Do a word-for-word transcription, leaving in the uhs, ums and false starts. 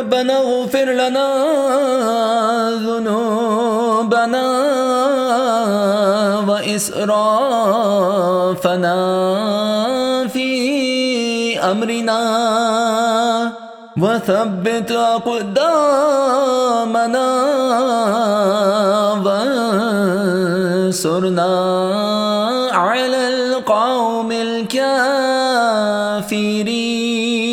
ربنا اغفر لنا ذنوبنا وإسرافنا في أمرنا وثبت أقدامنا وانصرنا على القوم الكافرين.